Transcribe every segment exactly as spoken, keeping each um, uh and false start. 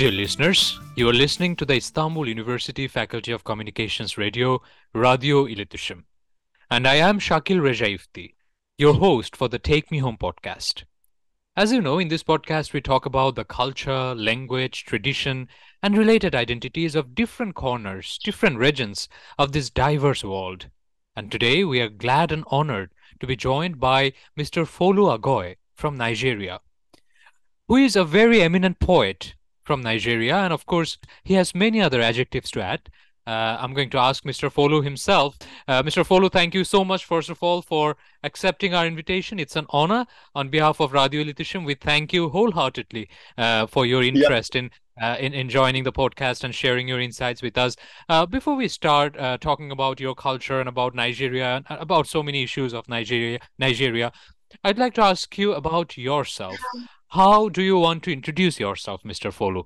Dear listeners, you are listening to the Istanbul University Faculty of Communications Radio, Radio İletişim. And I am Shakil Rejaifti, your host for the Take Me Home podcast. As you know, in this podcast, we talk about the culture, language, tradition, and related identities of different corners, different regions of this diverse world. And today, we are glad and honored to be joined by Mister Folu Agoy from Nigeria, who is a very eminent poet from Nigeria. And of course, he has many other adjectives to add. Uh, I'm going to ask Mister Folu himself. Uh, Mister Folu, thank you so much, first of all, for accepting our invitation. It's an honor. On behalf of Radio İletişim, we thank you wholeheartedly uh, for your Yeah, interest in, uh, in in joining the podcast and sharing your insights with us. Uh, before we start uh, talking about your culture and about Nigeria and about so many issues of Nigeria, Nigeria, I'd like to ask you about yourself. How do you want to introduce yourself, Mister Folu?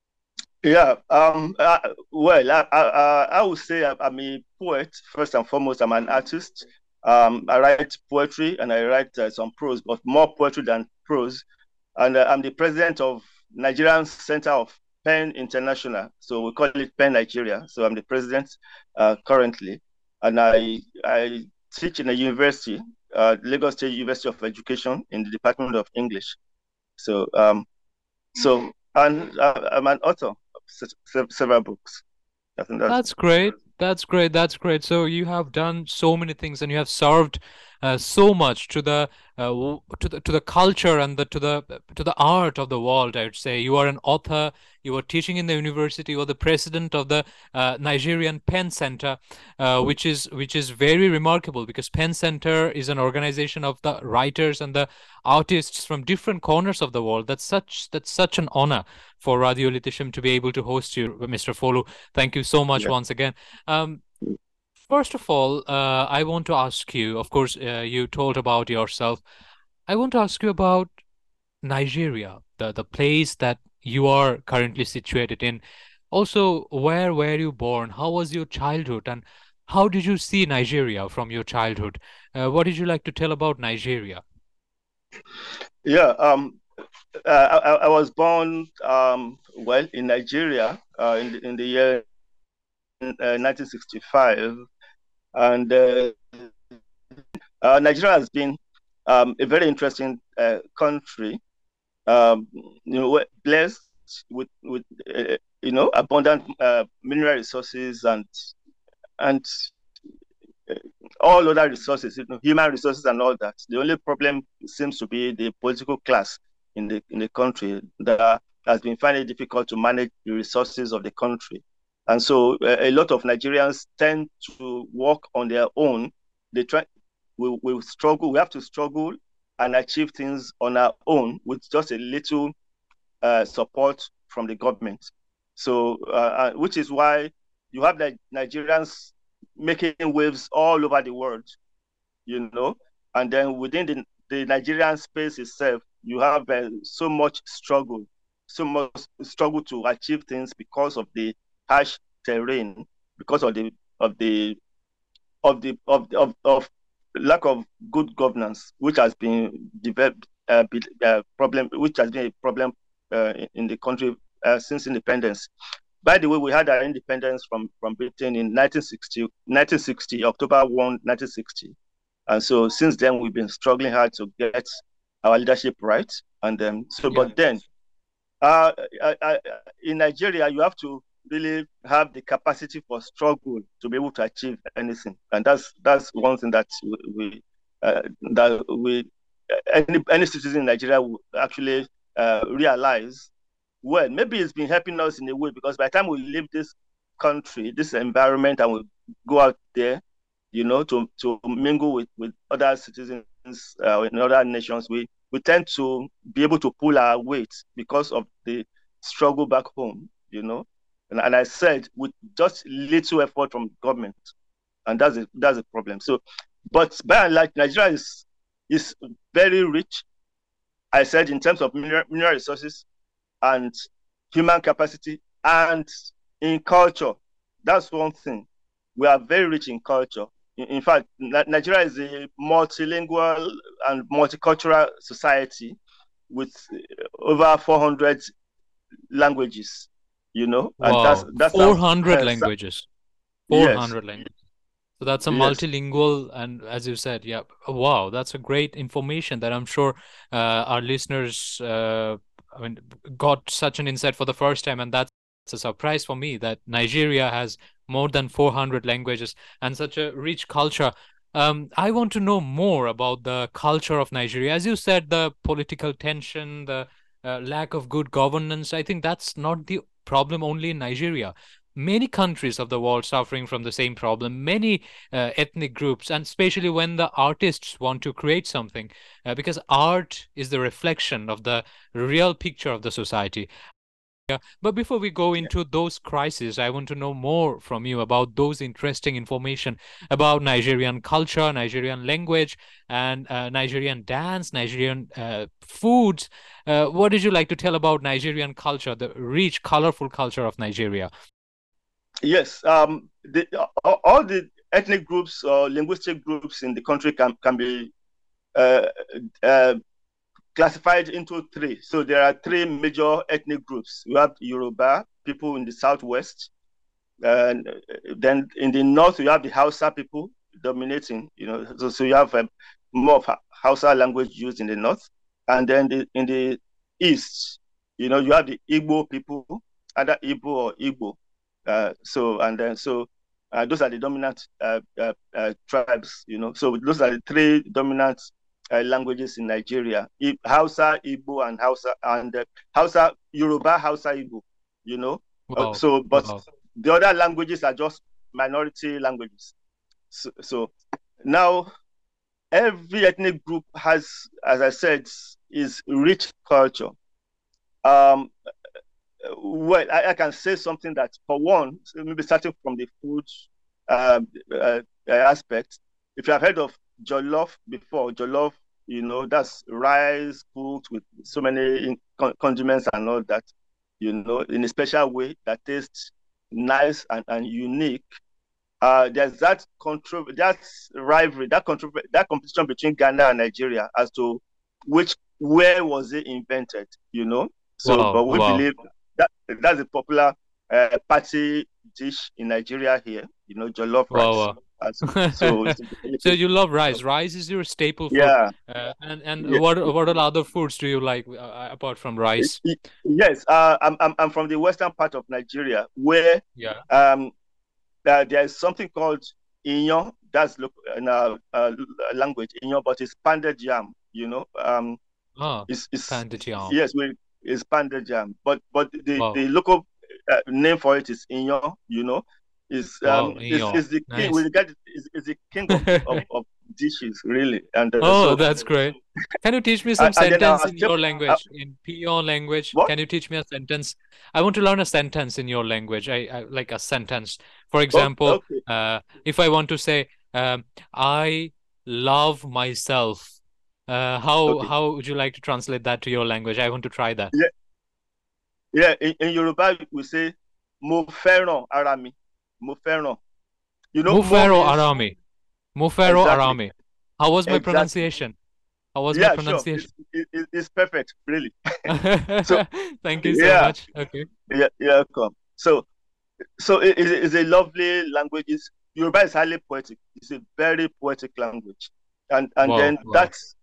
yeah. Um, uh, well, I, I, I I would say I- I'm a poet first and foremost. I'm an artist. Um, I write poetry and I write uh, some prose, but more poetry than prose. And uh, I'm the president of Nigerian Center of Pen International. So we call it Pen Nigeria. So I'm the president uh, currently, and I I teach in a university, uh, Lagos State University of Education, in the Department of English. So um, so and uh, I'm an author of se- se- several books. I think that's That's great. That's great. That's great. So you have done so many things, and you have served uh, so much to the uh, w- to the to the culture and the to the to the art of the world. I would say you are an author. You are teaching in the university. You are the president of the uh, Nigerian Pen Center, uh, which is which is very remarkable because Pen Center is an organization of the writers and the artists from different corners of the world. That's such that's such an honor for Radio İletişim to be able to host you, Mister Folu. Thank you so much yeah. once again. Um, first of all, uh, I want to ask you, of course, uh, you told about yourself. I want to ask you about Nigeria, the, the place that you are currently situated in. Also, where were you born? How was your childhood? And how did you see Nigeria from your childhood? Uh, what did you like to tell about Nigeria? Yeah. Um, uh, I, I was born um, well in Nigeria uh, in the, in the year uh, nineteen sixty-five, and uh, uh, Nigeria has been um, a very interesting uh, country. Um, you know, we're blessed with with uh, you know abundant uh, mineral resources and and uh, all other resources, you know, human resources and all that. The only problem seems to be the political class in the in the country that has been finding it difficult to manage the resources of the country. And so uh, a lot of Nigerians tend to work on their own. They try, we we struggle, we have to struggle and achieve things on our own with just a little uh, support from the government. So, uh, uh, which is why you have the Nigerians making waves all over the world, you know, and then within the, the Nigerian space itself, you have uh, so much struggle, so much struggle to achieve things because of the harsh terrain, because of the of the of the of of, of lack of good governance, which has been developed uh, uh, problem, which has been a problem uh, in the country uh, since independence. By the way, we had our independence from, from Britain in nineteen sixty, nineteen sixty, October first, nineteen sixty. And so since then, we've been struggling hard to get our leadership right. And then, so, Yeah. but then, uh, I, I, in Nigeria, you have to really have the capacity for struggle to be able to achieve anything. And that's that's one thing that we uh, that we any any citizen in Nigeria will actually uh, realize. Well, maybe it's been helping us in a way because by the time we leave this country, this environment, and we go out there, you know, to, to mingle with, with other citizens uh, in other nations, we, we tend to be able to pull our weight because of the struggle back home, you know. And, and I said, with just little effort from government, and that's a, that's a problem. So, but by and large, Nigeria is, is very rich. I said in terms of mineral, mineral resources, and human capacity, and in culture. That's one thing. We are very rich in culture. In, in fact, Nigeria is a multilingual and multicultural society with over four hundred languages, you know, and that's Wow, that four sounds hundred languages. yes, four hundred languages. So that's a yes, multilingual, and as you said, yeah, wow, that's a great information that I'm sure uh, our listeners, uh, I mean, got such an insight for the first time, and that's a surprise for me that Nigeria has more than four hundred languages and such a rich culture. Um, I want to know more about the culture of Nigeria. As you said, the political tension, the uh, lack of good governance, I think that's not the problem only in Nigeria. Many countries of the world suffering from the same problem. Many uh, ethnic groups, and especially when the artists want to create something, uh, because art is the reflection of the real picture of the society. Yeah. But before we go yeah. into those crises, I want to know more from you about those interesting information about Nigerian culture, Nigerian language, and uh, Nigerian dance, Nigerian uh, foods. Uh, what did you like to tell about Nigerian culture, the rich, colorful culture of Nigeria? Yes, um, the, all, all the ethnic groups or linguistic groups in the country can can be uh, uh, classified into three. So there are three major ethnic groups. You have Yoruba people in the southwest, and then in the north you have the Hausa people dominating. You know, so, so you have um, more of Hausa language used in the north, and then the, in the east, you know, you have the Igbo people, either Igbo or Igbo. Uh, so and then so uh, those are the dominant uh, uh, uh, tribes. You know, so those are the three dominant uh, languages in Nigeria: I- Hausa, Igbo, and Hausa, and uh, Hausa, Yoruba, Hausa, Igbo. You know, uh, Wow, so but wow, the other languages are just minority languages. So, so now every ethnic group has, as I said, is rich culture. Um, well, I, I can say something that, for one, maybe starting from the food uh, uh, aspect. If you have heard of jollof before, jollof, you know, that's rice cooked with so many condiments and all that, you know, in a special way that tastes nice and, and unique. Uh, there's that control, that rivalry, that control, that competition between Ghana and Nigeria as to which where was it invented, you know. So, wow, but we wow, believe that that's a popular uh, party dish in Nigeria here, you know, jollof rice. wow, Uh, so, so, wow. it's, So it's, you love rice. Rice is your staple food. yeah, Uh, and and yeah, what what are other foods do you like uh, apart from rice? yes. Uh, I'm, I'm I'm from the western part of Nigeria where Yeah. um uh, there is something called inyo. That's look in our uh, language, inyo, but it's pounded yam. You know, um, Ah, it's, it's pounded yam. yes, we it's pounded yam, but but the Wow, the local uh, name for it is inyo. You know, is um wow, is yeah, is the king. We nice. regard it is, is the king of, of of dishes really, and uh, Oh, so that's great. Can you teach me some and, and then sentence our in step your uh, language, in Peon language? what? Can you teach me a sentence? I want to learn a sentence in your language. I, I like a sentence. For Okay, example, okay, uh, if I want to say, um, I love myself, uh, how okay. how would you like to translate that to your language? I want to try that. Yeah, yeah. In, in Yoruba, we say mo fẹ́ràn ara mi, mo fẹ́ràn. You know, more Mufero means Arami. Mufero exactly, Arami. How was my exactly. pronunciation? How was my Yeah, sure. pronunciation? It's it, it's perfect, really. So Thank you so yeah, much. Okay. yeah, yeah. Come. So so it is a lovely language. It's, Yoruba is highly poetic. It's a very poetic language, and and Wow, then wow. that's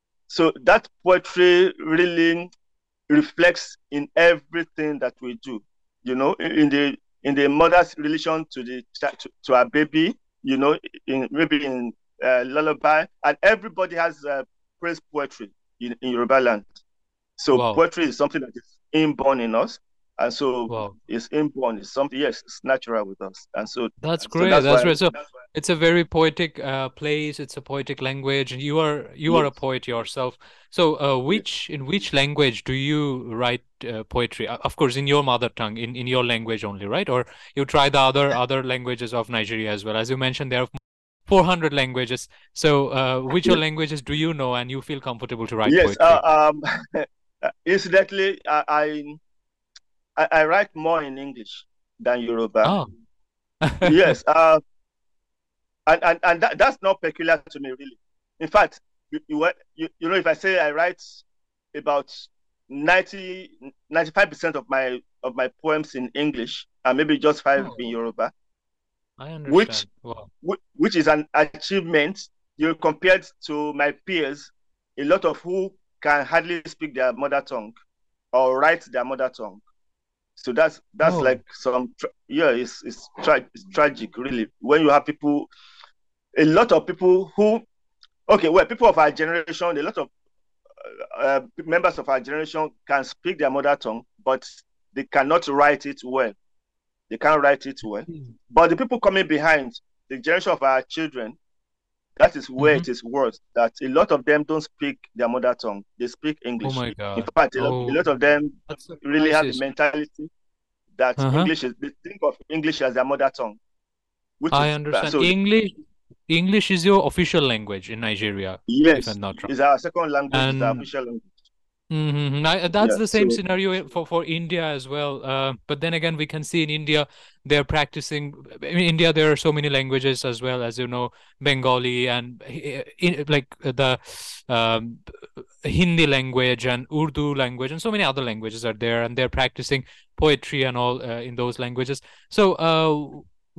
so that poetry really reflects in everything that we do. You know, in the in the mother's relation to the to, to our baby. You know, in maybe in uh, lullaby, and everybody has uh, praise poetry in, in Yoruba land. So Wow. poetry is something that is inborn in us, and so Wow. it's inborn. It's something, yes, it's natural with us, and so That's so great. that's That's why. great. So it's a very poetic uh, place. It's a poetic language. You are you are a Yes, poet yourself. So uh, yes, which in which language do you write uh, poetry? Uh, Of course, in your mother tongue, in, in your language only, right? Or you try the other other languages of Nigeria as well. As you mentioned, there are four hundred languages. So uh, which yes. languages do you know and you feel comfortable to write Yes. poetry? Uh, um, incidentally, I, I I write more in English than Yoruba. Oh. Yes. Uh, and and, and that, that's not peculiar to me, really. In fact, you, you, you, you know, if I say I write about ninety, ninety-five percent of my of my poems in English, and maybe just five Oh, in Yoruba, I which understand. Wow. which is an achievement. You know, compared to my peers, a lot of who can hardly speak their mother tongue or write their mother tongue. So that's that's Oh, like some yeah, it's it's, tra- it's tragic really when you have people, a lot of people who okay, well, people of our generation, a lot of uh, members of our generation can speak their mother tongue, but they cannot write it well. They can't write it well. But the people coming behind, the generation of our children, that is where mm-hmm. it is worse. That a lot of them don't speak their mother tongue; they speak Oh English. my In God. fact, a lot, a Oh, lot of them that's a really have the crisis. mentality that Uh-huh. English is. They think of English as their mother tongue, which I is bad. understand. So English, English is your official language in Nigeria, if yes, I'm not wrong. is our second language, is our And official language. mm-hmm. I, that's Yeah. the same So scenario for, for India as well. Uh, but then again, we can see in India, they're practicing. In India, there are so many languages as well, as you know, Bengali and uh, in, like uh, the um, Hindi language and Urdu language, and so many other languages are there, and they're practicing poetry and all uh, in those languages. So, uh,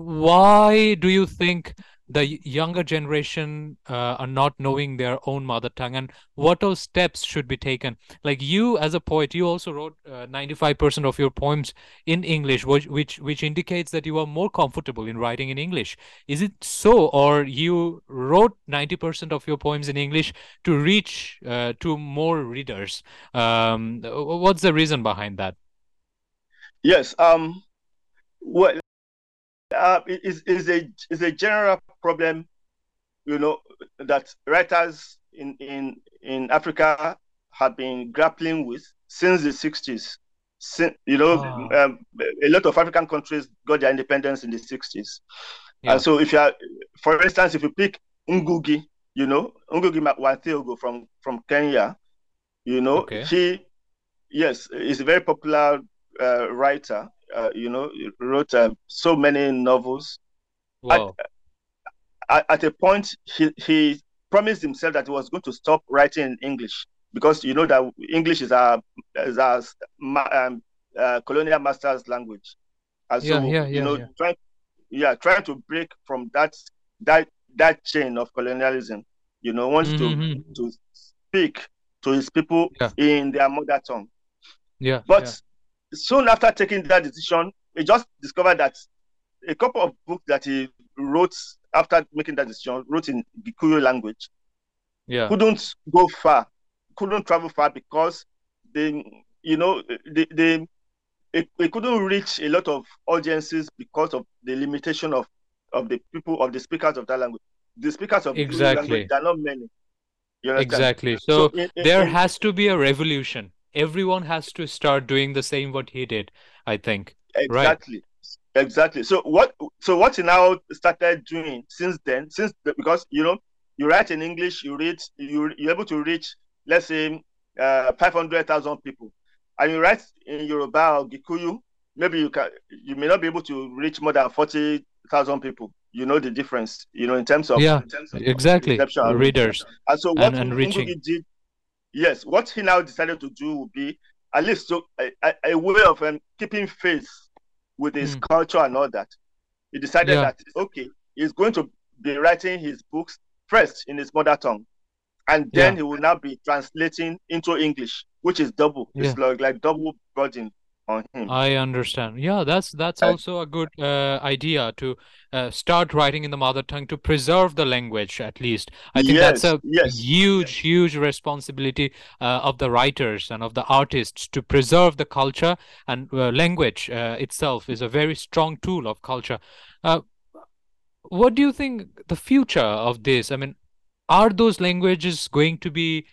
why do you think the y- younger generation uh, are not knowing their own mother tongue, and what all steps should be taken? Like you, as a poet, you also wrote uh, ninety-five percent of your poems in English, which, which which indicates that you are more comfortable in writing in English. Is it so, or you wrote ninety percent of your poems in English to reach uh, to more readers? Um, what's the reason behind that? yes, um, well, uh, it is is a is a general problem, you know, that writers in in in Africa have been grappling with since the sixties. Sin- you know, Ah, um, a lot of African countries got their independence in the sixties. And yeah. so, if you are, for instance, if you pick Ngugi, you know, Ngugi wa Thiong'o from from Kenya, you know, Okay. he, yes, is a very popular uh, writer. Uh, you know, he wrote uh, so many novels. At, Wow. at, at a point, he, he promised himself that he was going to stop writing in English because you know that English is our is our um, uh, colonial master's language, and Yeah. so Yeah. you Yeah. know, Yeah. trying yeah, trying to break from that that that chain of colonialism, you know, wants to Mm-hmm. to speak to his people Yeah. in their mother tongue. Yeah. Yeah. But soon after taking that decision, he just discovered that a couple of books that he wrote after making that decision, wrote in Gikuyu language, Yeah. couldn't go far, couldn't travel far because they, you know, they, they it, it couldn't reach a lot of audiences because of the limitation of of the people of the speakers of that language. The speakers of Gikuyu language, Exactly. there are not many. You understand? Exactly. So So in, in, there in has to be a revolution. Everyone has to start doing the same what he did, I think. Right. exactly, exactly. So what so what he now started doing since then, since the, because you know you write in English, you read you you're able to reach, let's say, uh, five hundred thousand people, and you write in Yoruba or Gikuyu, maybe you can you may not be able to reach more than forty thousand people. You know the difference, you know, in terms of Yeah. Exactly. reception and reach. Readers And so and what and reaching. Ngugi did, yes, what he now decided to do would be at least so a, a, a way of um, keeping faith with his Mm. culture and all that. He decided Yeah. that okay, he's going to be writing his books first in his mother tongue, and then Yeah. he will now be translating into English, which is double. It's Yeah. like, like double burden on him. I understand. Yeah, that's that's Uh, also a good uh, idea to uh, start writing in the mother tongue to preserve the language at least. I think that's yes, a yes, huge, huge responsibility uh, of the writers and of the artists to preserve the culture and uh, language uh, itself is a very strong tool of culture. Uh, what do you think the future of this? I mean, are those languages going to be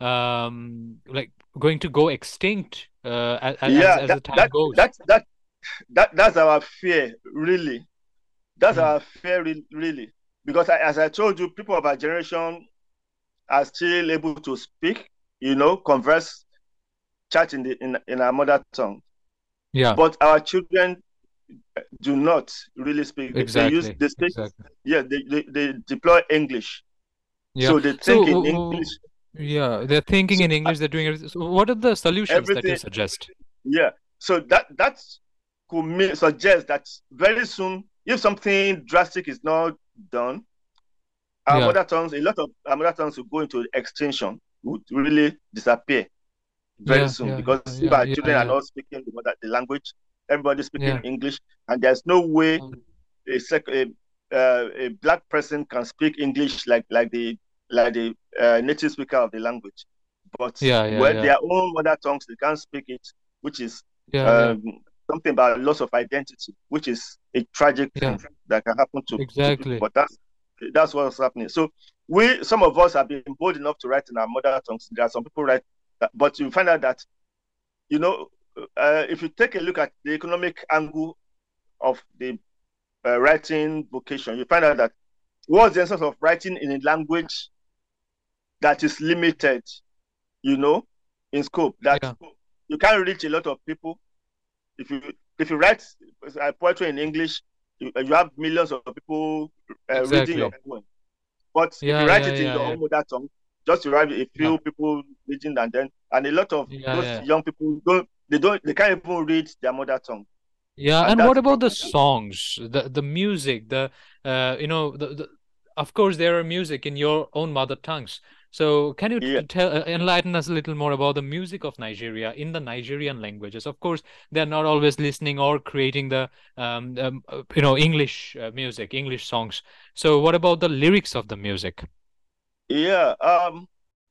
um, like going to go extinct uh, as as yeah. as That the time that goes? that that that that's our fear, really. That's Hmm. our fear, really, because I, as I told you, people of our generation are still able to speak, you know, converse, chat in the in, in our mother tongue. Yeah, But our children do not really speak. They, they use exactly, they speak, exactly. yeah, they, they, they deploy English. Yeah. So they So, think in w- w- English. Yeah, they're thinking So in uh, English, they're doing everything. So what are the solutions that you everything, suggest? yeah. So that that could mean, suggest that very soon, if something drastic is not done, our Yeah, mother tongues, a lot of our mother tongues will go into extinction, would really disappear very yeah, soon, yeah, because if yeah, our yeah, children are yeah, not speaking the, mother, the language, everybody speaking yeah, English, and there's no way um, a, sec- a, uh, a black person can speak English like like the like the uh, native speaker of the language, but yeah, yeah, when yeah, their own mother tongues they can't speak it, which is yeah, yeah, um, something about loss of identity, which is a tragic yeah, thing that can happen to, to people. exactly. But that's that's what's happening. So we, some of us have been bold enough to write in our mother tongues. There are some people write, that, but you find out that, you know, uh, if you take a look at the economic angle of the uh, writing vocation, you find out that what's the essence of writing in a language that is limited, you know, in scope, that Yeah, you can't reach a lot of people. If you if you write uh, poetry in English, you, you have millions of people uh, reading your exactly. poem. But if you Yeah, write yeah, it in yeah, your yeah, own mother tongue, just you have a yeah, few people reading, and then and a lot of yeah, those yeah. young people don't they don't they can't even read their mother tongue, Yeah, and and that's what the about the problem. songs, the the music, the uh, you know, the, the of course there are music in your own mother tongues. So can you Yeah, t- tell uh, enlighten us a little more about the music of Nigeria in the Nigerian languages? Of course, they're not always listening or creating the um, um uh, you know English uh, music, English songs. So what about the lyrics of the music? yeah. Um,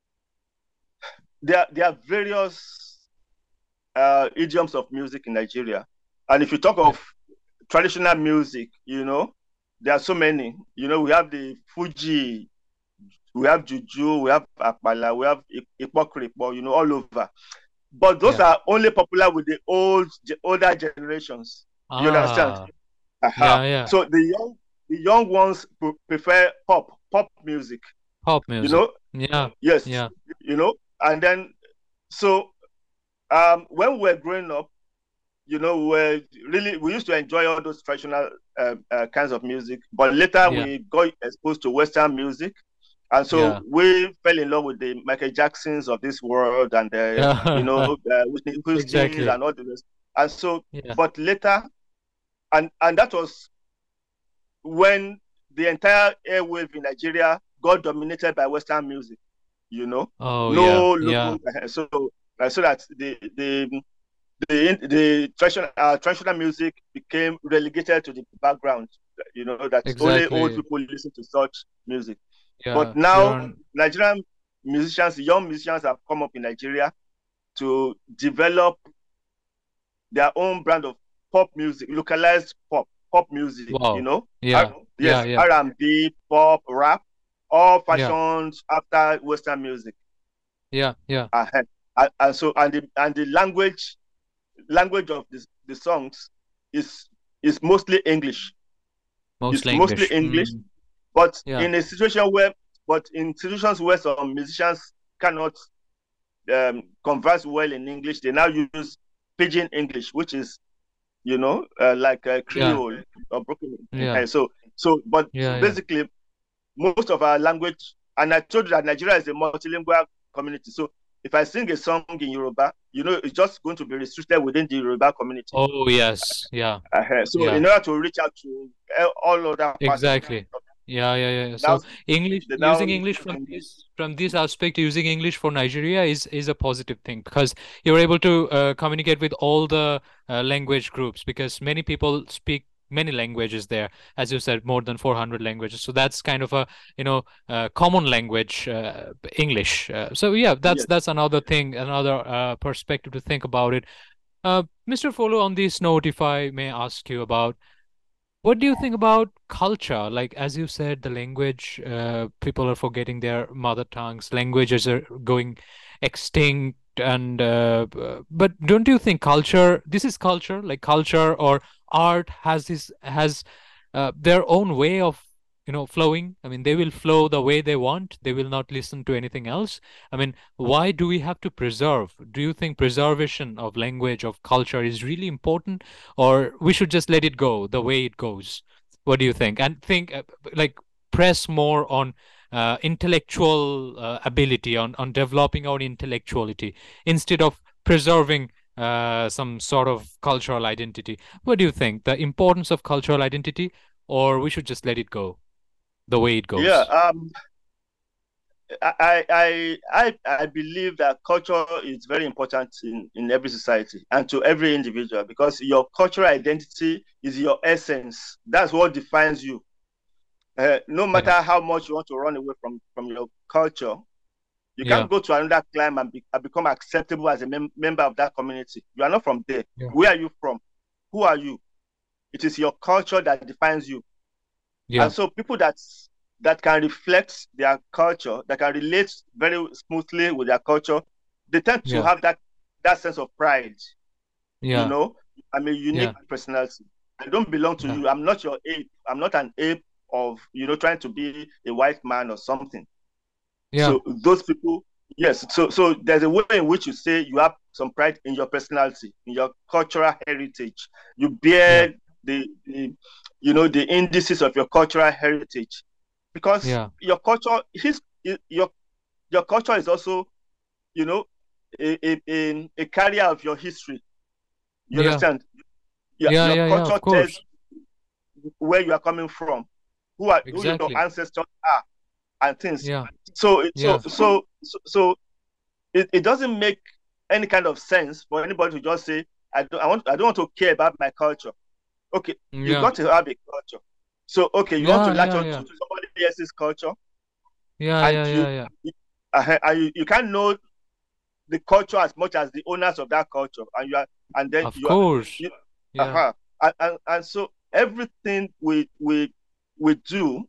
there there are various uh, idioms of music in Nigeria, and if you talk Yeah, of traditional music, you know, there are so many. You know, we have the Fuji, we have Juju, we have Akpala, we have Ipokripo, you know, all over. But those yeah. are only popular with the old, the older generations. You understand? Ah, Aha. yeah, yeah. So the young, the young ones prefer pop, pop music. Pop You music. know, Yeah, yes, yeah, you know, and then so um, when we were growing up, you know, we were really we used to enjoy all those traditional uh, uh, kinds of music. But later yeah, we got exposed to Western music, and so yeah, we fell in love with the Michael Jacksons of this world, and the you yeah. know uh, Whitney Houston's Exactly. and all the rest. And so, Yeah. but later, and and that was when the entire airwave in Nigeria got dominated by Western music. You know, Oh yeah, no yeah, local. So uh, so that the the the the traditional uh, traditional music became relegated to the background. You know that only old exactly. people listen to such music. But Yeah, you're now on. Nigerian musicians, young musicians have come up in Nigeria to develop their own brand of pop music, localized pop, pop music. You Wow. know, R- Yeah, yeah, yes, yeah, R and B, pop, rap, all yeah, fashioned after Western music. yeah, yeah. Uh, and, and so and the and the language language of this, the songs is is mostly English. It's Mostly mostly English. English, Mm, but yeah. in a situation where, but in situations where some musicians cannot um, converse well in English, they now use pidgin English, which is you know uh, like a Yeah, Creole or broken. yeah, So so, but yeah, yeah. basically most of our language, and I told you that Nigeria is a multilingual community. So if I sing a song in Yoruba, you know, it's just going to be restricted within the Yoruba community. Oh yes, yeah, Uh-huh. So yeah. in order to reach out to all other parts of the Exactly. Yeah, yeah, yeah. now, So English, they now using English from this from this aspect, using English for Nigeria is is a positive thing because you're able to uh, communicate with all the uh, language groups because many people speak many languages there, as you said, more than four hundred languages. So that's kind of a, you know, uh, common language, uh, English. Uh, so yeah, that's yes, that's another thing, another uh, perspective to think about it. Uh, mister Follow, on this note, if I may ask you about what do you think about culture? Like, as you said, the language, uh, people are forgetting their mother tongues, languages are going extinct. And, uh, b- but don't you think culture, this is culture, like culture or art has this, has uh, their own way of, you know, flowing? I mean, they will flow the way they want. They will not listen to anything else. I mean, why do we have to preserve? Do you think preservation of language, of culture is really important? Or we should just let it go the way it goes? What do you think? And think uh, like press more on uh, intellectual uh, ability, on, on developing our intellectuality, instead of preserving uh, some sort of cultural identity. What do you think? The importance of cultural identity, or we should just let it go the way it Yeah, goes? um, I, I, I, I believe that culture is very important in, in every society and to every individual, because your cultural identity is your essence. That's what defines you. Uh, no matter Yeah, how much you want to run away from, from your culture, you yeah, can't go to another climb and, be, and become acceptable as a mem- member of that community. You are not from there. yeah, Where are you from? Who are you? It is your culture that defines you. And yeah, so people that that can reflect their culture, that can relate very smoothly with their culture, they tend to yeah, have that that sense of pride. You yeah, know, I'm a yeah, unique personality. I don't belong to yeah, you. I'm not your ape. I'm not an ape of, you know, trying to be a white man or something. yeah, So those people, yes. So so there's a way in which you say you have some pride in your personality, in your cultural heritage. You yeah, bear the, the you know, the indices of your cultural heritage, because yeah, your culture, his your your culture is also, you know, a, a, a, a carrier of your history. You yeah, understand? Your, yeah, your yeah, yeah, culture of tells course. where you are coming from, who are who your Exactly. ancestors are, and things. Yeah, So so yeah, so so, so it, it doesn't make any kind of sense for anybody to just say, I don't I want I don't want to care about my culture. Okay, you yeah, got to have a culture. So okay, you want to yeah, latch yeah, on to yeah, somebody else's culture, yeah, and yeah, you yeah, yeah. you, uh, and you, you can't know the culture as much as the owners of that culture, and you are and then Of you are course. you, Yeah, uh-huh. and, and, and so everything we we we do,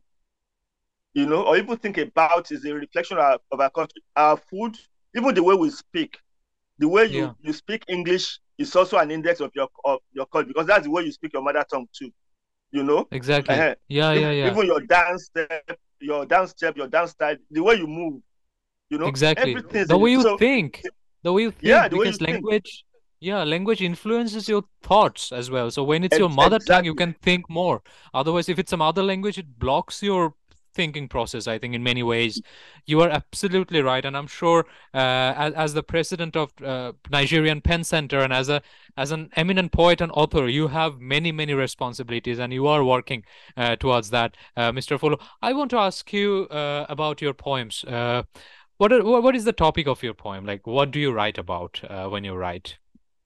you know, or even think about is a reflection of, of our country. Our food, even the way we speak, the way you yeah, you speak English is also an index of your of your culture, because that's the way you speak your mother tongue too. You know, exactly. uh-huh. Yeah, even, yeah, yeah. even your dance step, your dance step, your dance style, the way you move, you know, Exactly. everything is The way in, you so think, the way you yeah, think, the way you because think. language, yeah, language influences your thoughts as well. So when it's your Ex- mother tongue, you exactly. can think more. Otherwise, if it's some other language, it blocks your thinking process, I think, in many ways. You are absolutely right. And I'm sure, uh, as, as the president of uh, Nigerian Pen Center, and as a as an eminent poet and author, you have many, many responsibilities, and you are working uh, towards that, uh, mister Follow. I want to ask you uh, about your poems. Uh, what are, wha- what is the topic of your poem? Like, what do you write about uh, when you write?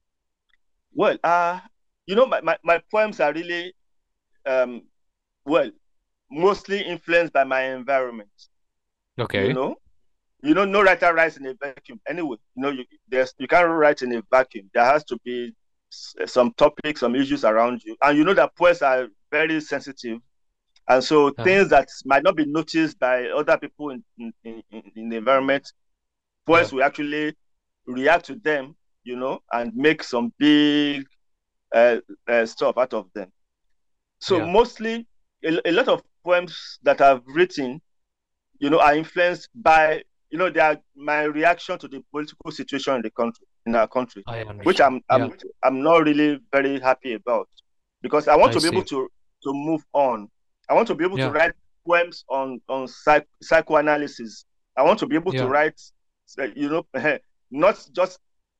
Well, uh, you know, my, my, my poems are really, um, well, mostly influenced by my environment. You Okay. know, you know, no writer writes in a vacuum. Anyway, you know, you there's you can't write in a vacuum. There has to be s- some topics, some issues around you, and you know that poets are very sensitive, and so Uh, things that might not be noticed by other people in in, in, in the environment, yeah. poets will actually react to them, you know, and make some big uh, uh, stuff out of them. So Yeah. mostly, a, a lot of poems that I've written, you know, are influenced by, you know, they are my reaction to the political situation in the country, in our country, I which understand. I'm Yeah. I'm I'm not really very happy about, because I want I to be able see. to to move on. I want to be able to Yeah. write poems on on psych, psychoanalysis. I want to be able to Yeah. write, uh, you know, not just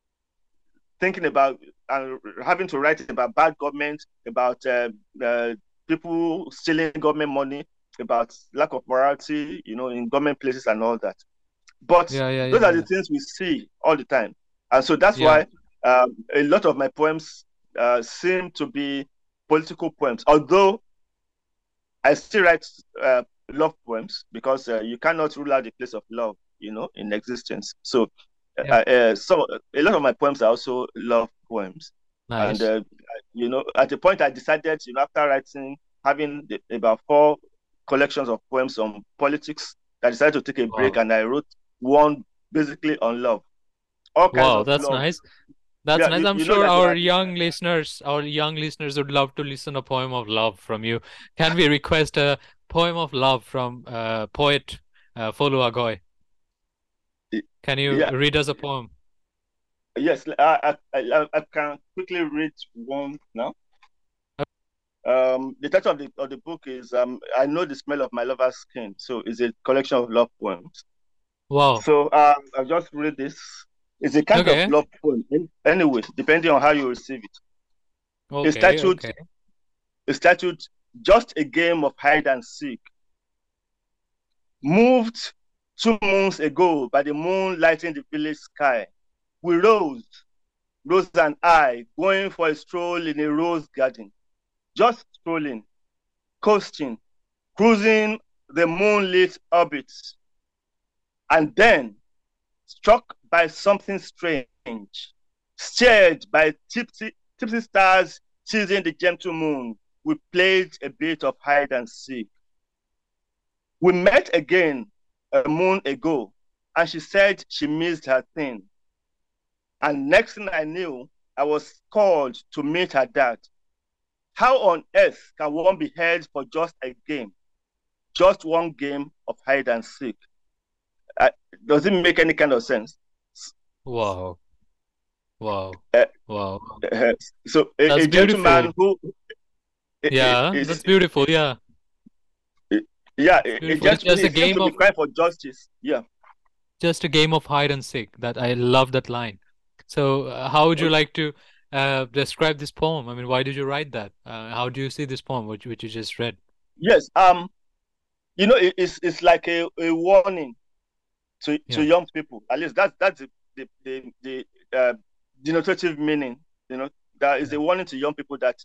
thinking about and uh, having to write about bad government, about uh, uh, people stealing government money, about lack of morality, you know, in government places and all that. But Yeah. Yeah. those Yeah. are the Yeah. things we see all the time, and so that's Yeah. why um, a lot of my poems uh, seem to be political poems. Although I still write uh, love poems, because uh, you cannot rule out the place of love, you know, in existence. So, uh, Yeah. uh, so a lot of my poems are also love poems, and Nice. uh, you know, at the point I decided, you know, after writing, having the, about four collections of poems on politics, I decided to take a break, Wow. and I wrote one basically on love, all kinds Wow. of That's love. nice. That's Yeah, nice. you, I'm you know sure that there our are young listeners, our young listeners would love to listen a poem of love from you. Can we request a poem of love from uh, poet uh, Folu Agoy? Can you yeah, read us a poem? yes, I, I, I, I can quickly read one now. Um, the title of the of the book is um, "I Know the Smell of My Lover's Skin." So it's a collection of love poems. Wow. So um, I'll just read this. It's a kind of Okay. love poem. Anyway, depending on how you receive it. It's Okay. titled, Okay. it's titled "Just a Game of Hide and Seek." Moved two moons ago by the moon lighting the village sky, we rose, Rose and I, going for a stroll in a rose garden, just strolling, coasting, cruising the moonlit orbits, and then, struck by something strange, stirred by tipsy, tipsy stars teasing the gentle moon, we played a bit of hide and seek. We met again a moon ago, and she said she missed her thing. And next thing I knew, I was called to meet her dad. How on earth can one be held for just a game? Just one game of hide and seek? Uh, does it make any kind of sense? Wow. Wow. Uh, Wow. uh, so a, That's a beautiful. gentleman who Yeah, is, that's beautiful. Yeah, yeah, it's a, a beautiful. It's gentleman, just he a seems game to be of crying for justice. Yeah. just a game of hide and seek. That I love that line. So, uh, how would you Okay. like to uh, describe this poem? I mean, why did you write that? Uh, how do you see this poem, which which you just read? Yes. Um. You know, it, it's it's like a, a warning to to Yeah. young people. At least that's that's the the the, the uh, denotative meaning. You know, that is Yeah. a warning to young people that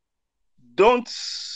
don't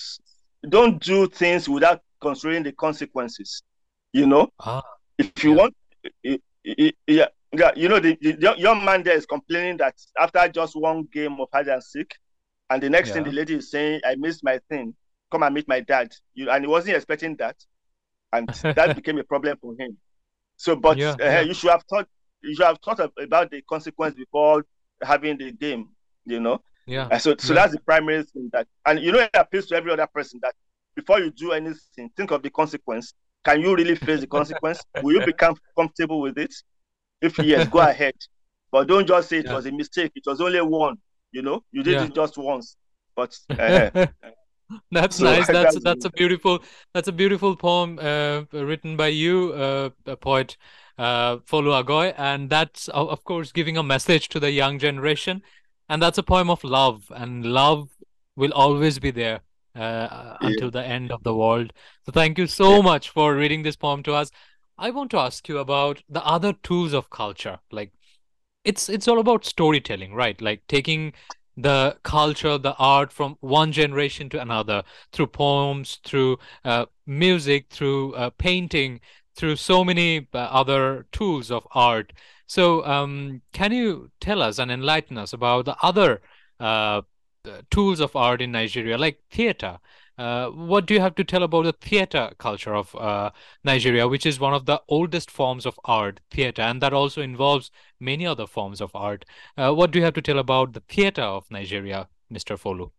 don't do things without considering the consequences. You know, Ah. if you Yeah. want, yeah, yeah. You know, the, the young man there is complaining that after just one game of hide and seek, and the next thing the Yeah. lady is saying, "I missed my thing. Come and meet my dad." You and he wasn't expecting that, and that became a problem for him. So, but Yeah. uh, Yeah. you should have thought you should have thought of, about the consequence before having the game. You know, Yeah. uh, so so Yeah. that's the primary thing that, and you know, it appeals to every other person that before you do anything, think of the consequence. Can you really face the consequence? Will you become comfortable with it? If yes, go ahead, but don't just say it Yeah. was a mistake. It was only one. You know, you did Yeah. it just once, but uh, That's so nice. That's that's that's a beautiful that's a beautiful poem uh, written by you, uh, a poet uh, Folu Agoy, and that's o- of course giving a message to the young generation, and that's a poem of love, and love will always be there uh, yeah, until the end of the world. So thank you yeah, so much for reading this poem to us. I want to ask you about the other tools of culture, like it's it's all about storytelling, right? Like taking the culture, the art from one generation to another through poems, through uh, music, through uh, painting, through so many uh, other tools of art. So, um, can you tell us and enlighten us about the other uh, uh, tools of art in Nigeria, like theater? Uh, what do you have to tell about the theater culture of uh, Nigeria, which is one of the oldest forms of art, theater, and that also involves many other forms of art. Uh, what do you have to tell about the theater of Nigeria, mister Folu?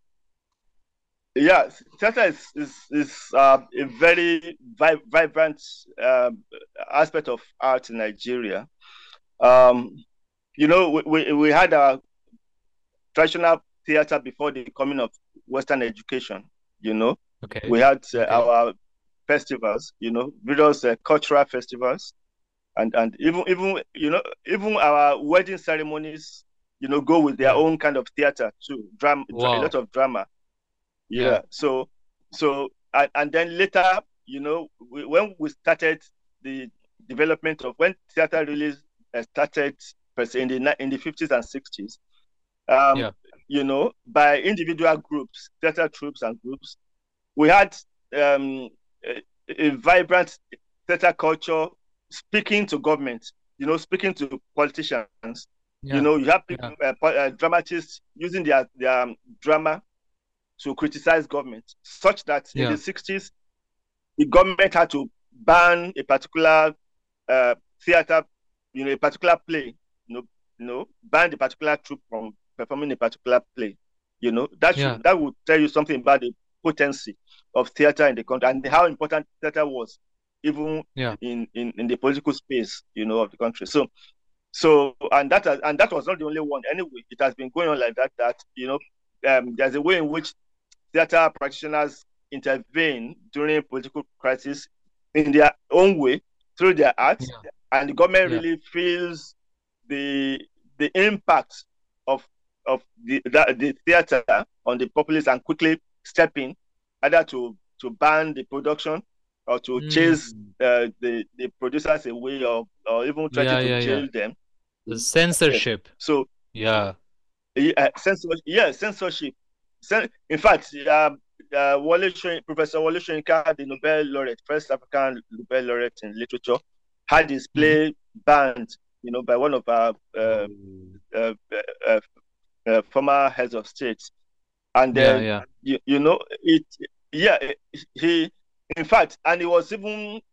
yeah. Theater is is, is uh, a very vi- vibrant um, aspect of art in Nigeria. Um, you know, we, we, we had a traditional theater before the coming of Western education. You know, Okay. we had uh, Okay. our festivals. You know, various uh, cultural festivals, and and even even you know even our wedding ceremonies. You know, go with their Yeah. own kind of theater too. Drama, a lot Wow. of drama. Yeah. Yeah. So so and, and then later, you know, we, when we started the development of when theater really uh, started in the in the fifties and sixties, um, Yeah. you know, by individual groups, theater troops and groups, we had um, a, a vibrant theater culture speaking to government, you know, speaking to politicians. You Yeah. know, you have Yeah. people, uh, uh, dramatists using their, their um, drama to criticize government, such that in Yeah. the sixties, the government had to ban a particular uh, theater, you know, a particular play, you know, you know, ban the particular troupe from performing a particular play. You know, that Yeah. should that would tell you something about the potency of theater in the country and how important theater was, even Yeah. in, in, in the political space, you know, of the country. So so and that and that was not the only one. Anyway, it has been going on like that. That you know, um, there's a way in which theater practitioners intervene during political crisis in their own way through their art, Yeah. and the government Yeah. really feels the the impact of of the the, the theater on the populace and quickly step in, either to to ban the production or to chase Mm. uh, the the producers away, or or even threaten Yeah, to yeah, yeah. jail them. The Yes. censorship. So Yeah. uh, censorship, yeah, censorship. In fact, uh, uh, Wole Soyinka, Professor Wole Soyinka, the Nobel laureate, first African Nobel laureate in literature, had his Mhm. play banned, you know, by one of our uh, Oh. uh, uh, uh, former heads of state. And Yeah, uh, yeah. you, you know, it, yeah, he, in fact, and he was even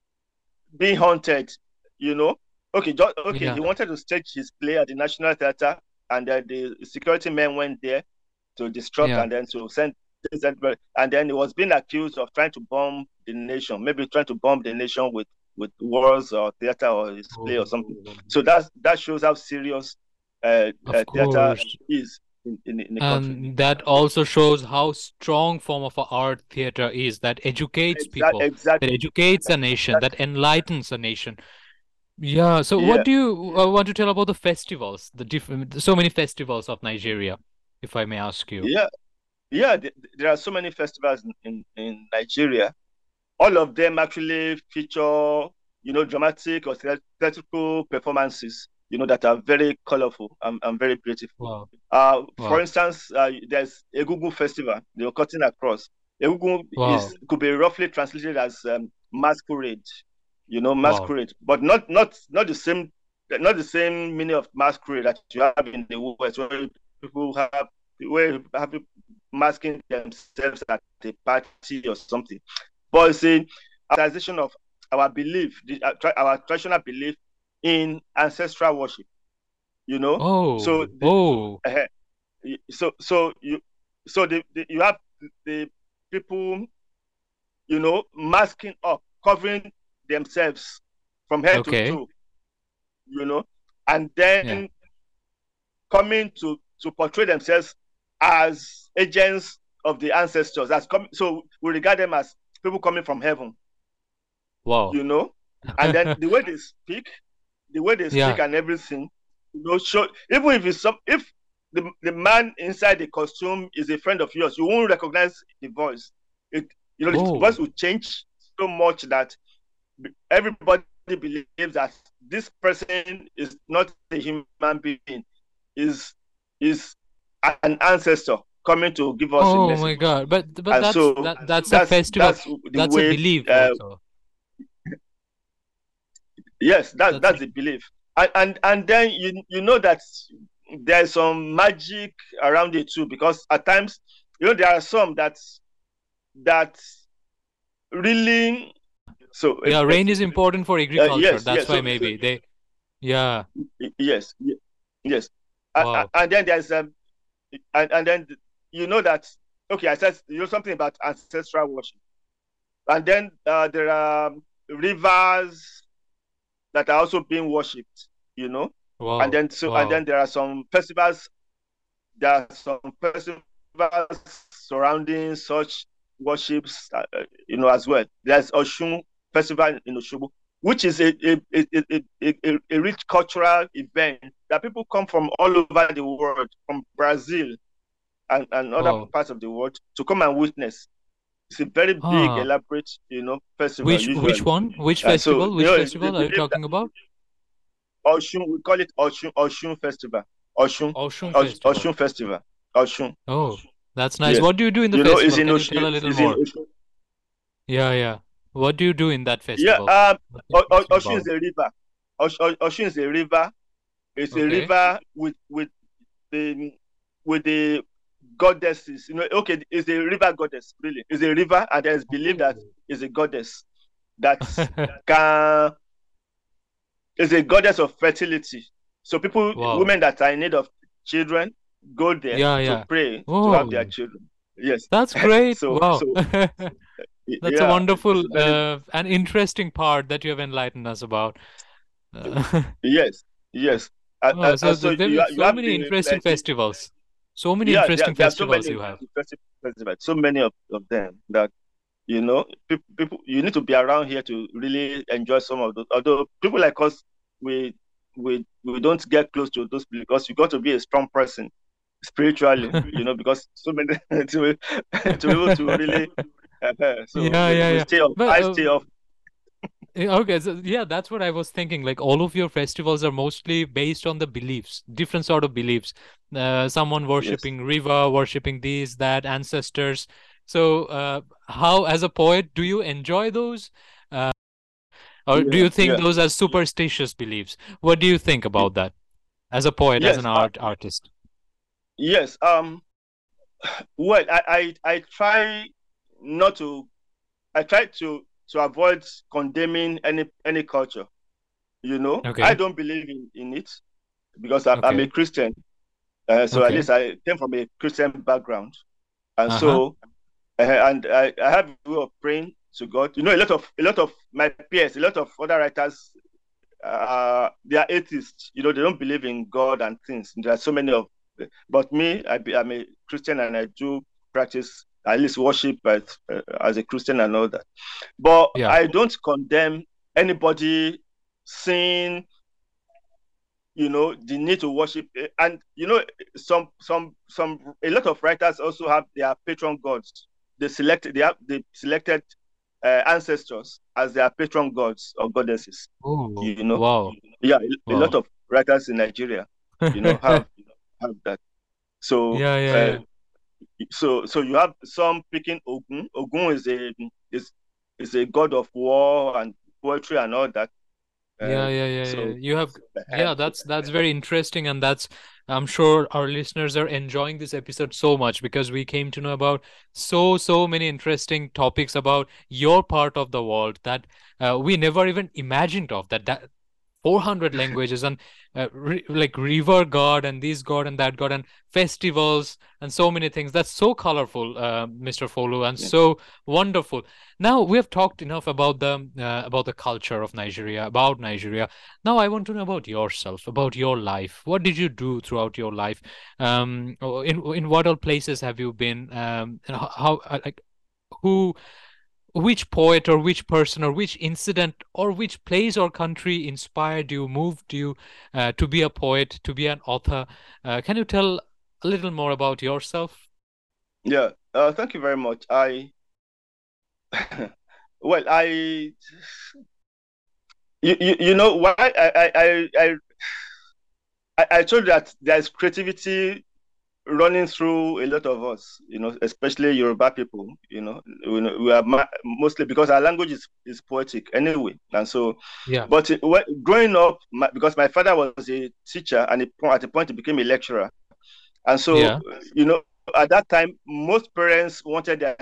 being haunted, you know. Okay, just, okay, Yeah. he wanted to stage his play at the National Theatre, and uh, the security men went there to disrupt Yeah. and then to send, and then he was being accused of trying to bomb the nation, maybe trying to bomb the nation with with wars or theater or his play or something. Oh. So that's that shows how serious uh, uh, Of theater course. is in, in, in the country. And that also shows how strong form of a art theater is, that educates Exactly, people, that exactly. educates a nation, that enlightens a nation. Yeah. So what Yeah, do you uh, want to tell about the festivals, the different, so many festivals of Nigeria, if I may ask you? yeah, yeah. Th- there are so many festivals in, in, in Nigeria. All of them actually feature, you know, dramatic or theatrical performances, you know, that are very colorful and, and very beautiful. Wow. Uh, for Wow. instance, uh, there's Egungun Festival, they're cutting across. Egungun is Wow. could be roughly translated as um, masquerade, you know, Wow. masquerade, but not not not the same not the same meaning of masquerade that you have in the West, where people have where have people masking themselves at a party or something. But it's a realization of our belief, our traditional belief in ancestral worship. You know, so Oh. the, Oh. uh, so so you so the, the you have the people, you know, masking up, covering themselves from head to Okay. toe, you know, and Yeah. then coming to to portray themselves as agents of the ancestors. As com- so we regard them as people coming from heaven, Wow. you know, and then the way they speak, the way they speak Yeah. and everything, you know, show even if it's some if the, the man inside the costume is a friend of yours, you won't recognize the voice. It, you know, the voice Oh. will change so much that everybody believes that this person is not a human being, is is an ancestor coming to give us a Oh message. my God. But but And that's so that that's a that's festival. that's the That's a way. belief Uh, also. yes, that's That's that's the belief, and and and then you you know that there's some magic around it too, because at times, you know, there are some that that really so Yeah, uh, rain is important for uh, agriculture. yes, That's yes, why so, so maybe they, yeah. yes, yes, uh, uh, Wow. and then there's um, and, and then you know that, okay, I said, you know, something about ancestral worship, and then uh, there are rivers that are also being worshipped, you know, and Wow. then so and then Wow. there are some festivals, there are some festivals surrounding such worships, uh, you know, as well. There's Oshun Festival in Oshobo, which is a a, a, a, a, a rich cultural event that people come from all over the world, from Brazil and, and other Wow. parts of the world, to come and witness. It's a very big, Ah. elaborate, you know, festival Which which usually. one? Which Uh, so festival? you Which know, they festival are you believe that talking about? Oshun, we call it Oshun Oshun Festival. Oshun Oshun Osh- Festival. Oshun Festival. Oshun. Oh, that's nice. Yes. What do you do in the You know, it's festival? in Can you Oshun. tell a little It's in more? Oshun. Yeah, yeah. What do you do in that Yeah. festival? Um. What's O- O- interesting Oshun about is it? a river. Osh- O- Oshun is a river. It's a Okay. river with with the with the goddesses. You know, okay, it's a river goddess. Really, it's a river, and there's believed that Oh. it's a goddess that can is a goddess of fertility. So people, Wow. women that are in need of children, go there Yeah, to yeah. pray to have their Oh, children. Yes. that's great. so Wow. so That's a yeah, it's wonderful a very uh, and interesting part that you have enlightened us about. Uh, yes, yes. Uh, oh, uh, uh, so so th there you are you so have many the, uh, interesting the festivals. So many Yeah, there, interesting there are so festivals many you have. festivals, so many of, of them that you know people, people you need to be around here to really enjoy some of those. Although people like us, we we we don't get close to those because you got to be a strong person spiritually, you know, because so many to, to be able to really uh, so Yeah, we, yeah, we yeah. stay off. But I uh, stay off. eh, okay, so yeah, that's what I was thinking. Like all of your festivals are mostly based on the beliefs, different sort of beliefs. Uh, someone Yes. worshiping river, worshiping these, that, ancestors. So, uh, how, as a poet, do you enjoy those? Uh, or do Yeah. you think Yeah. those are superstitious beliefs? What do you think about that as a poet, as an Yes. Uh, art artist? yes. Um. Well, I, I I try not to. I try to to avoid condemning any any culture. You know, I Okay, don't believe in in it because I'm, I'm a okay, Christian. Uh, so at okay. least I came from a Christian background, and Uh-huh. so uh, and I, I have a way of praying to God. You know, a lot of a lot of my peers, a lot of other writers, uh, they are atheists. You know, they don't believe in God and things. There are so many of, but me, I be, I'm a Christian and I do practice at least worship as, uh, as a Christian and all that. But Yeah. I don't condemn anybody seeing, you know, the need to worship. And you know, some some some a lot of writers also have their patron gods. They selected they have they selected uh, ancestors as their patron gods or goddesses. Oh, You know, wow, yeah, a, a lot wow. of writers in Nigeria, you know, have have that. So Yeah, yeah, uh, yeah. so so you have some picking Ogun. Ogun is a is is a god of war and poetry and all that. Uh, Yeah, yeah, yeah, yeah. so You have, uh, yeah, that's that's very interesting, and that's I'm sure our listeners are enjoying this episode so much because we came to know about so so many interesting topics about your part of the world that uh, we never even imagined of that that four hundred languages and uh, re- like river god and this god and that god and festivals and so many things. That's so colorful, uh, Mister Folu, and yeah. so wonderful. Now we have talked enough about the uh, about the culture of Nigeria, about Nigeria. Now I want to know about yourself, about your life. What did you do throughout your life? Um, or in in what all places have you been? Um, and how, how uh, like who which poet or which person or which incident or which place or country inspired you, moved you uh, to be a poet, to be an author? Uh, can you tell a little more about yourself? Yeah, uh, thank you very much. I well, I you, you, you know why I I I I, I told you that there's creativity running through a lot of us, you know, especially Yoruba people. You know, we, we are ma- mostly because our language is, is poetic anyway, and so. Yeah, But it, when, growing up, my, because my father was a teacher, and it, at a point he became a lecturer, and so yeah, you know, at that time, most parents wanted their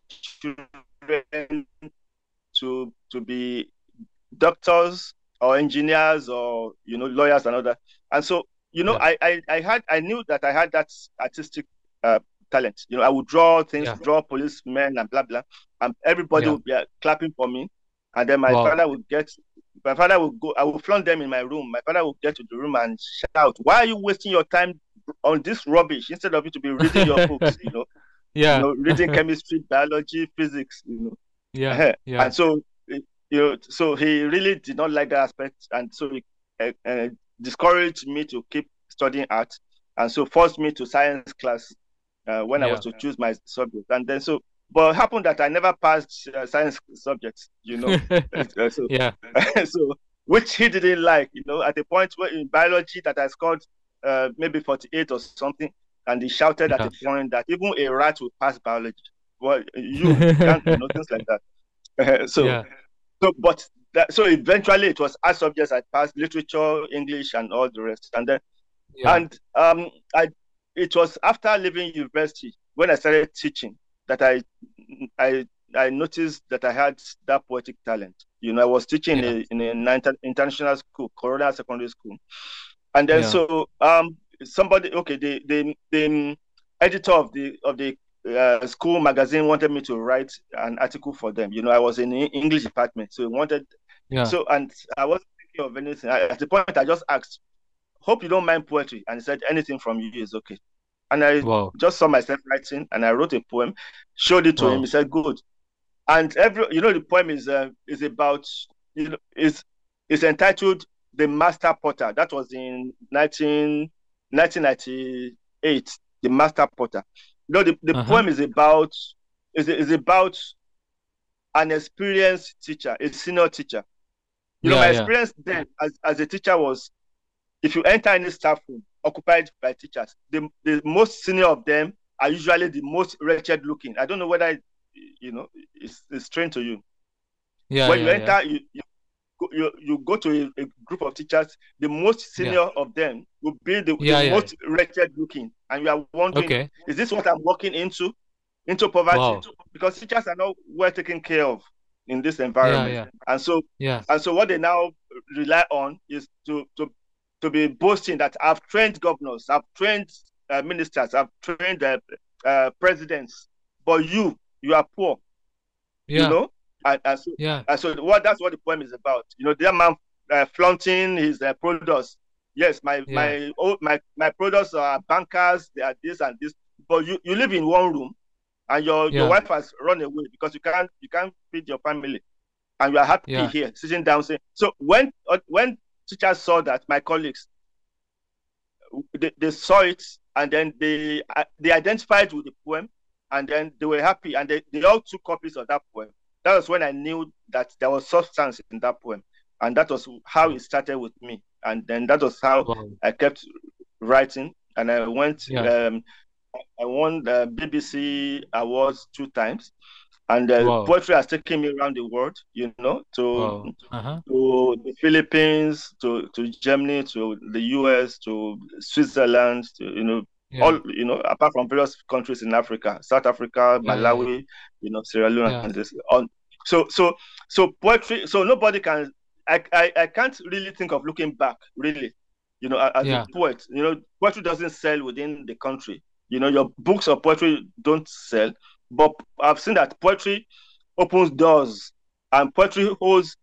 children to to be doctors or engineers or you know lawyers and all that. And so you know, yeah, I I, I had I knew that I had that artistic uh, talent. You know, I would draw things, yeah, draw policemen and blah blah, and everybody yeah. would be uh, clapping for me. And then my Wow. father would get. My father would go. I would flaunt them in my room. My father would get to the room and shout, "Why are you wasting your time on this rubbish instead of you to be reading your books? You know, you Yeah, know, reading chemistry, biology, physics. You know." yeah, Uh-huh. yeah, And so, you know, so he really did not like that aspect, and so he uh, uh, discouraged me to keep studying art, and so forced me to science class uh, when I was yeah, to choose my subject. And then so, but it happened that I never passed uh, science subjects, you know. Uh, so, yeah, so which he didn't like, you know. At the point where in biology that I scored uh, maybe forty-eight or something, and he shouted at yeah. a point that even a rat will pass biology. Well, you you can't, you know, things like that. Uh, so, Yeah, so, but that, so eventually it was art subjects I passed, literature, English, and all the rest. And then, yeah, and um, I, it was after leaving university when I started teaching that I, I, I noticed that I had that poetic talent. You know, I was teaching yeah, in a, in an international school, Corona Secondary School, and then yeah, so um, somebody, okay, the the the editor of the of the uh, school magazine wanted me to write an article for them. You know, I was in the English department, so he wanted yeah. so and I wasn't thinking of anything. I, at the point, I just asked, "Hope you don't mind poetry," and he said, "Anything from you is okay." And I Wow. just saw myself writing, and I wrote a poem, showed it to him. Wow. He said, "Good." And every, you know, the poem is uh, is about, you know, is is entitled "The Master Potter." That was in nineteen, nineteen ninety-eight. The Master Potter. You know, the, the Uh-huh. poem is about is is about an experienced teacher, a senior teacher. You know, Yeah, my yeah. experience then as, as a teacher was, if you enter any staff room occupied by teachers, the, the most senior of them are usually the most wretched looking. I don't know whether, you know, it's, it's strange to you. Yeah, When you yeah, yeah. enter, you, you, you, you go to a, a group of teachers, the most Yeah. senior of them will be the, the Yeah, yeah. most wretched looking. And you are wondering, Okay. is this what I'm walking into? Into poverty? Wow. Because teachers are not well taken care of in this Yeah, environment. yeah. And so Yeah. and so what they now rely on is to to to be boasting that I've trained governors, I've trained uh, ministers, I've trained uh, uh, presidents, but you, you are poor, you Yeah. know? And, and so, Yeah. and so what that's what the poem is about. You know, that man uh, flaunting his uh, products. Yes, my Yeah. my oh, my my products are bankers. They are this and this. But you, you live in one room, and your your Yeah. wife has run away because you can't you can't feed your family, and you are happy Yeah. here sitting down saying. So when uh, when teachers saw that, my colleagues, they, they saw it, and then they uh, they identified with the poem, and then they were happy, and they, they all took copies of that poem. That was when I knew that there was substance in that poem, and that was how Wow. it started with me. And then that was how Wow. I kept writing, and I went. Yeah. Um, I won the B B C awards two times, and uh, Wow. poetry has taken me around the world. You know, to Wow. Uh-huh. to the Philippines, to, to Germany, to the U S, to Switzerland, to, you know, Yeah. all, you know, apart from various countries in Africa, South Africa, Yeah, yeah, yeah. Malawi, you know, Sierra Leone, Yeah. and this. On, so, so, so poetry. So nobody can. I, I, I can't really think of looking back. Really, you know, as a Yeah. poet, you know, poetry doesn't sell within the country. You know, your books of poetry don't sell, but I've seen that poetry opens doors, and poetry holds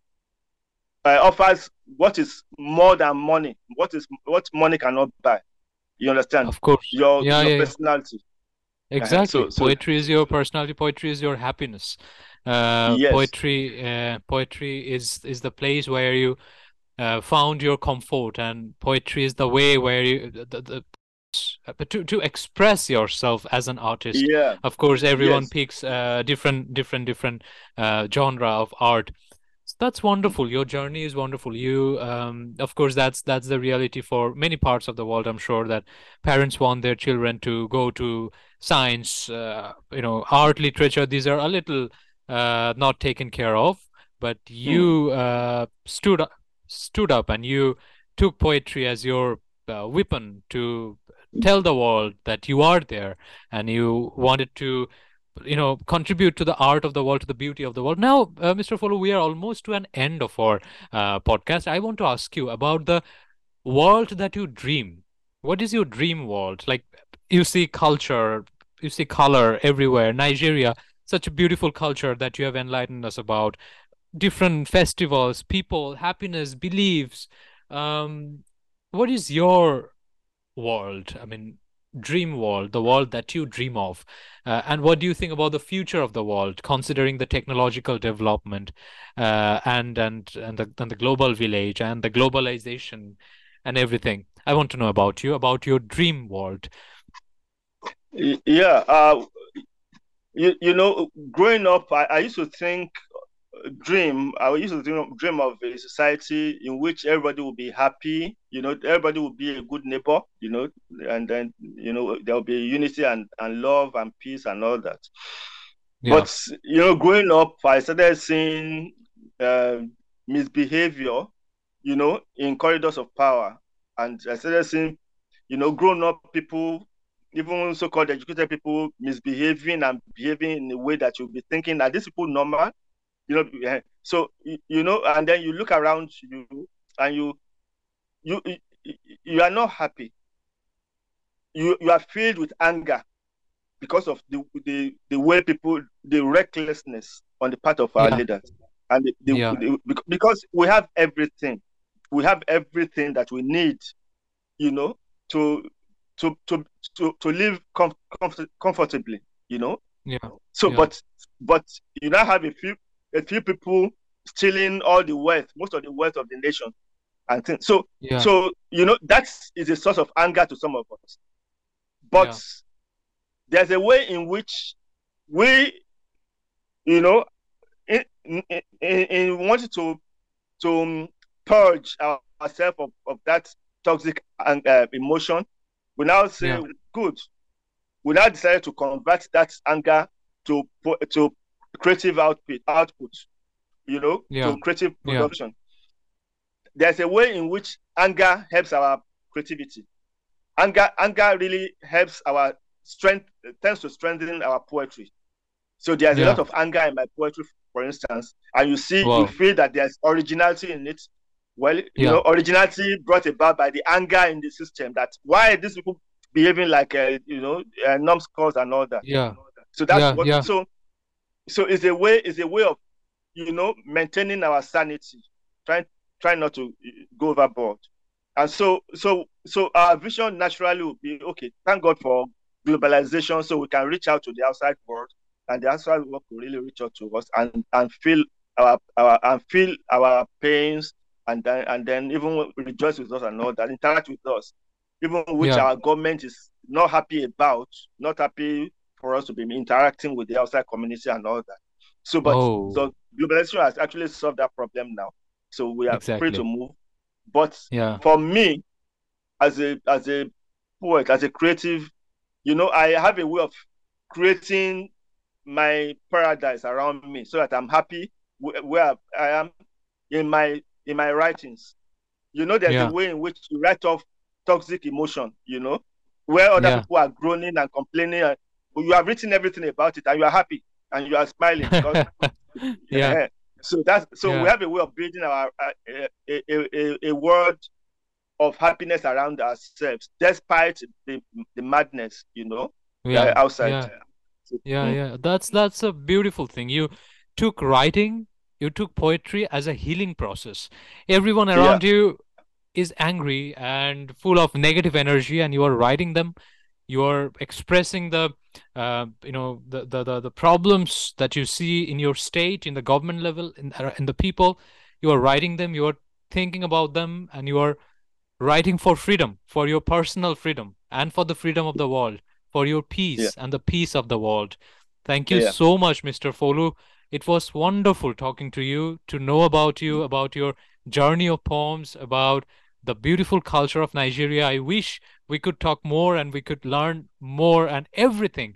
uh, offers what is more than money, what is what money cannot buy. You understand? Of course. Your Yeah, your yeah, yeah. personality. Uh-huh. Exactly. So so Poetry is your personality. Poetry is your happiness. Uh, yes, poetry, uh, poetry is is the place where you uh, found your comfort, and poetry is the way where you the, the but to to express yourself as an artist. yeah, Of course, everyone yes, picks uh, different different different uh, genre of art. So that's wonderful. Your journey is wonderful. You, um, of course, that's that's the reality for many parts of the world. I'm sure that parents want their children to go to science, uh, you know, art, literature. These are a little uh, not taken care of. But mm, you uh, stood up, stood up, and you took poetry as your uh, weapon to tell the world that you are there, and you wanted to you know contribute to the art of the world, to the beauty of the world. Now, uh, Mr. Follow, we are almost to an end of our uh, podcast. I want to ask you about the world that you dream. What is your dream world? Like, you see culture, you see color everywhere. Nigeria, such a beautiful culture that you have enlightened us about. Different festivals, people, happiness, beliefs. Um, what is your world? I mean, dream world, the world that you dream of. Uh, and what do you think about the future of the world, considering the technological development uh, and and and the and the global village and the globalization and everything? I want to know about you, about your dream world. yeah. Uh, you, you know, growing up, I, I used to think dream. I used to dream, dream of a society in which everybody will be happy. You know, everybody will be a good neighbor. You know, and then you know there will be unity and and love and peace and all that. Yeah. But you know, growing up, I started seeing uh, misbehavior. You know, in corridors of power, and I started seeing, you know, grown up people, even so-called educated people, misbehaving and behaving in a way that you'll be thinking, are these people normal? You know, eh, so you, you know, and then you look around you, and you you you, you are not happy. You you are filled with anger because of the the the way people, the recklessness on the part of our Yeah. leaders, and the, the, Yeah. the because we have everything, we have everything that we need, you know, to to to to, to live com- comfort- comfortably, you know. Yeah. So, yeah. but but you now have a few a few people stealing all the wealth, most of the wealth of the nation, and things. So Yeah. so you know that is a source of anger to some of us. But Yeah. there's a way in which we, you know, in in, in, in wanting to to purge ourselves of, of that toxic uh, emotion, we now say, Yeah. good. We now decided to convert that anger to to creative output, output, you know, Yeah. to creative Yeah. production. There's a way in which anger helps our creativity. Anger, anger really helps our strength, tends to strengthen our poetry. So there's a Yeah. lot of anger in my poetry, for instance, and you see, Wow. you feel that there's originality in it. Well, you Yeah. know, originality brought about by the anger in the system. That why these people behaving like uh, you know uh, numbskulls and all that. Yeah. So that's Yeah. what. Yeah. So so it's a way. It's a way of you know maintaining our sanity, trying trying not to go overboard. And so so so our vision naturally will be okay. Thank God for globalization, so we can reach out to the outside world, and the outside world will really reach out to us and and feel our our and feel our pains, and then and then even rejoice with us and all that, interact with us, even which Yeah. our government is not happy about, not happy for us to be interacting with the outside community and all that. So, but Oh, so globalization has actually solved that problem now. So we are free to exactly. move. But Yeah. for me, as a as a poet, as a creative, you know, I have a way of creating my paradise around me so that I'm happy where I am in my in my writings. You know, there's a Yeah. way in which you write off toxic emotion, you know, where other Yeah. people are groaning and complaining, and you have written everything about it and you are happy and you are smiling because Yeah. yeah. So that's so we Yeah. have a way of building our uh, a, a, a, a world of happiness around ourselves, despite the the madness, you know, uh, Yeah. outside. Yeah. So, Yeah. mm, Yeah. That's that's a beautiful thing. You took writing, you took poetry as a healing process. Everyone yeah, around you is angry and full of negative energy, and you are writing them. You are expressing the, uh, you know, the, the the the problems that you see in your state, in the government level, in uh, in the people. You are writing them. You are thinking about them, and you are writing for freedom, for your personal freedom, and for the freedom of the world, for your yeah, peace and the peace of the world. Thank you yeah. so much, Mister Folu. It was wonderful talking to you, to know about you, about your journey of poems, about the beautiful culture of Nigeria. I wish we could talk more and we could learn more and everything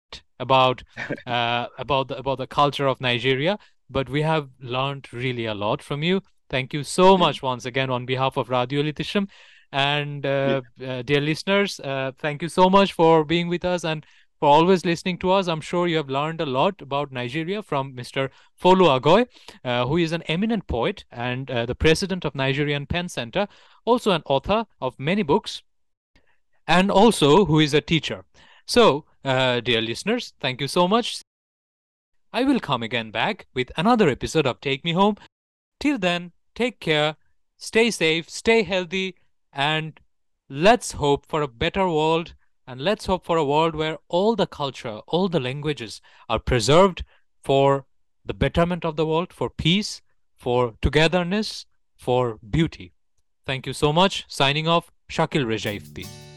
about uh, about the about the culture of Nigeria. But we have learned really a lot from you. Thank you so Yeah, much once again on behalf of Radio Litisham. And yeah. uh, uh, dear listeners, uh, thank you so much for being with us and for always listening to us. I'm sure you have learned a lot about Nigeria from Mister Folu Agoy, uh, who is an eminent poet and uh, the president of Nigerian Pen Center, also an author of many books, and also who is a teacher. So, uh, dear listeners, thank you so much. I will come again back with another episode of Take Me Home. Till then, take care, stay safe, stay healthy, and let's hope for a better world. And let's hope for a world where all the culture, all the languages are preserved for the betterment of the world, for peace, for togetherness, for beauty. Thank you so much. Signing off, Shakil Rejaifti.